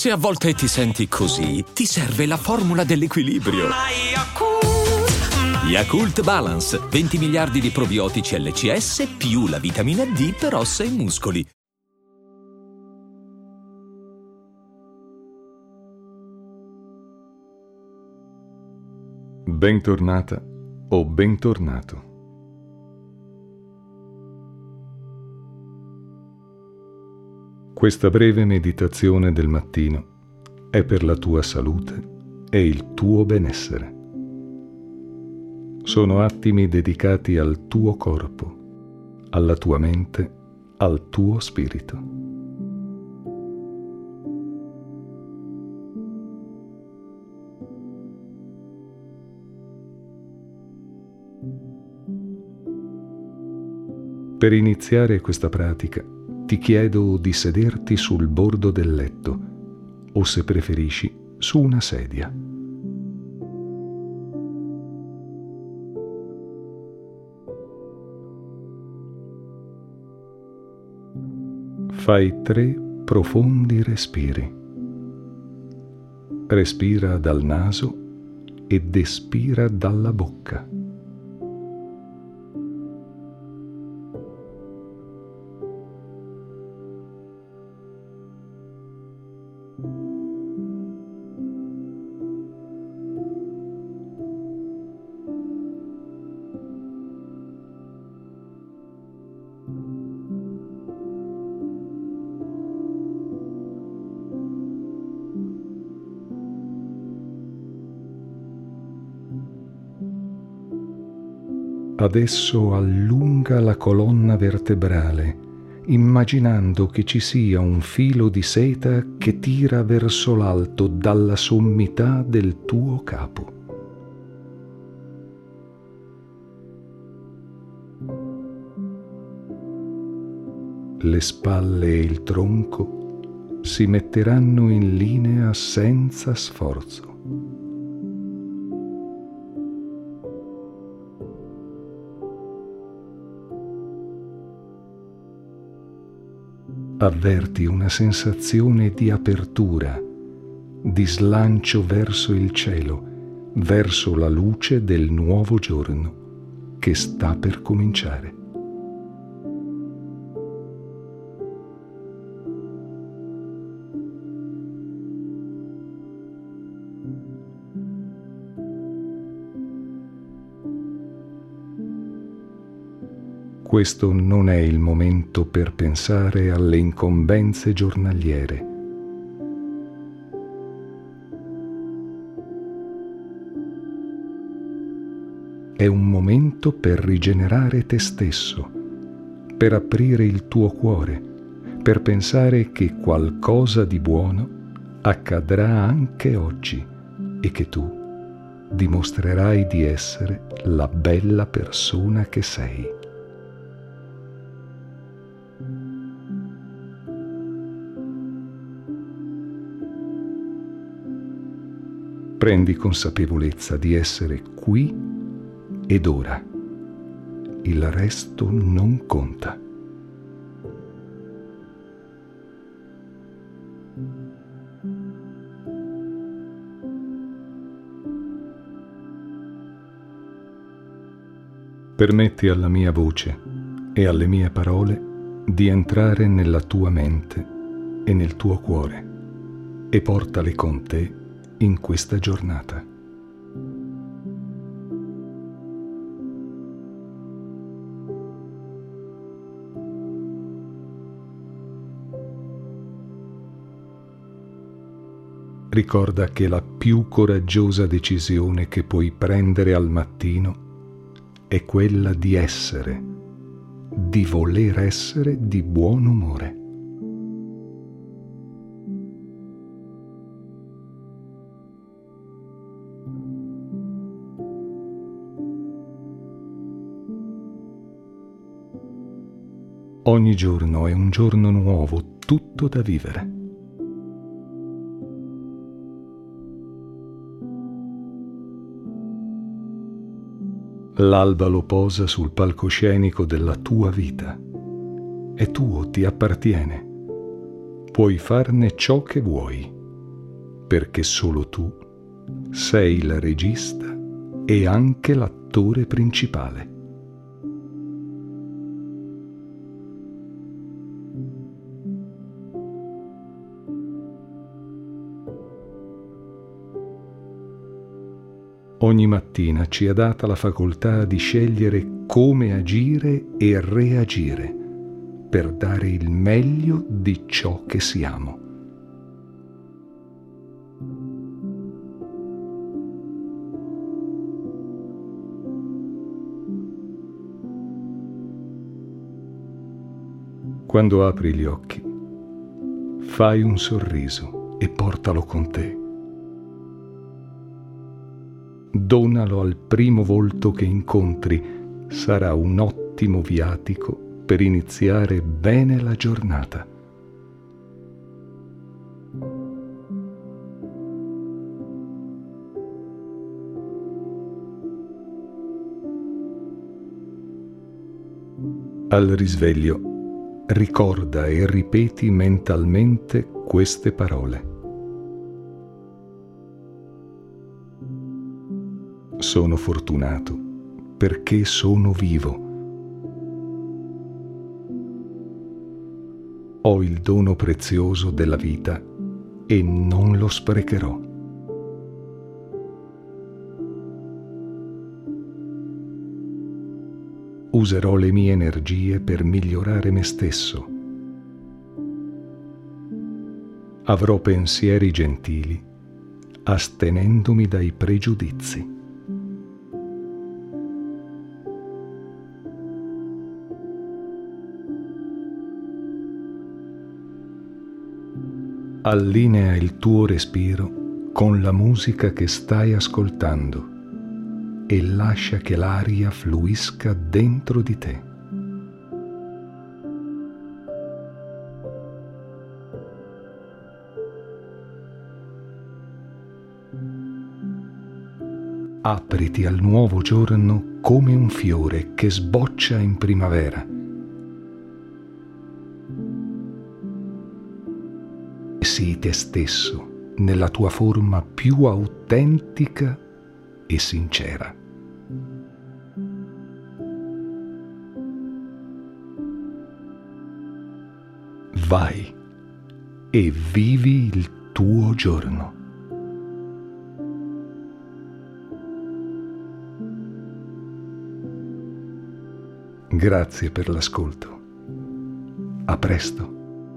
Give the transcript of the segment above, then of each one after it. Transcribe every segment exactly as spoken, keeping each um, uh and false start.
Se a volte ti senti così, ti serve la formula dell'equilibrio. Yakult Balance, venti miliardi di probiotici L C S più la vitamina D per ossa e muscoli. Bentornata o bentornato. Questa breve meditazione del mattino è per la tua salute e il tuo benessere. Sono attimi dedicati al tuo corpo, alla tua mente, al tuo spirito. Per iniziare questa pratica, ti chiedo di sederti sul bordo del letto o, se preferisci, su una sedia. Fai tre profondi respiri. Respira dal naso ed espira dalla bocca. Adesso allunga la colonna vertebrale, immaginando che ci sia un filo di seta che tira verso l'alto dalla sommità del tuo capo. Le spalle e il tronco si metteranno in linea senza sforzo. Avverti una sensazione di apertura, di slancio verso il cielo, verso la luce del nuovo giorno che sta per cominciare. Questo non è il momento per pensare alle incombenze giornaliere. È un momento per rigenerare te stesso, per aprire il tuo cuore, per pensare che qualcosa di buono accadrà anche oggi e che tu dimostrerai di essere la bella persona che sei. Prendi consapevolezza di essere qui ed ora. Il resto non conta. Permetti alla mia voce e alle mie parole di entrare nella tua mente e nel tuo cuore e portale con te in questa giornata. Ricorda che la più coraggiosa decisione che puoi prendere al mattino è quella di essere, di voler essere di buon umore. Ogni giorno è un giorno nuovo, tutto da vivere. L'alba lo posa sul palcoscenico della tua vita. È tuo, ti appartiene. Puoi farne ciò che vuoi. perché solo tu sei il regista e anche l'attore principale. Ogni mattina ci è data la facoltà di scegliere come agire e reagire per dare il meglio di ciò che siamo. Quando apri gli occhi, fai un sorriso e portalo con te. Donalo al primo volto che incontri, sarà un ottimo viatico per iniziare bene la giornata. Al risveglio, ricorda e ripeti mentalmente queste parole. Sono fortunato perché sono vivo. Ho il dono prezioso della vita e non lo sprecherò. Userò le mie energie per migliorare me stesso. Avrò pensieri gentili, astenendomi dai pregiudizi. Allinea il tuo respiro con la musica che stai ascoltando e lascia che l'aria fluisca dentro di te. Apriti al nuovo giorno come un fiore che sboccia in primavera. Sii te stesso nella tua forma più autentica e sincera. Vai e vivi il tuo giorno. Grazie per l'ascolto. A presto.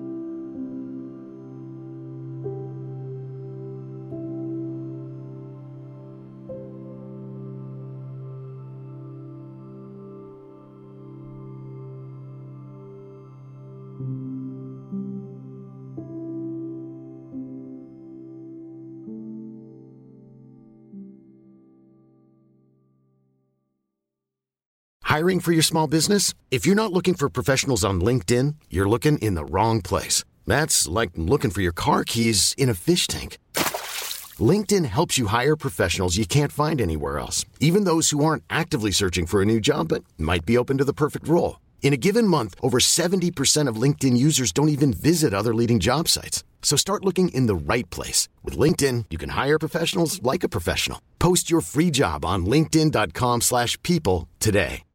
Hiring for your small business? If you're not looking for professionals on LinkedIn, you're looking in the wrong place. That's like looking for your car keys in a fish tank. LinkedIn helps you hire professionals you can't find anywhere else, even those who aren't actively searching for a new job but might be open to the perfect role. In a given month, over seventy percent of LinkedIn users don't even visit other leading job sites. So start looking in the right place. With LinkedIn, you can hire professionals like a professional. Post your free job on linkedin dot com slash people today.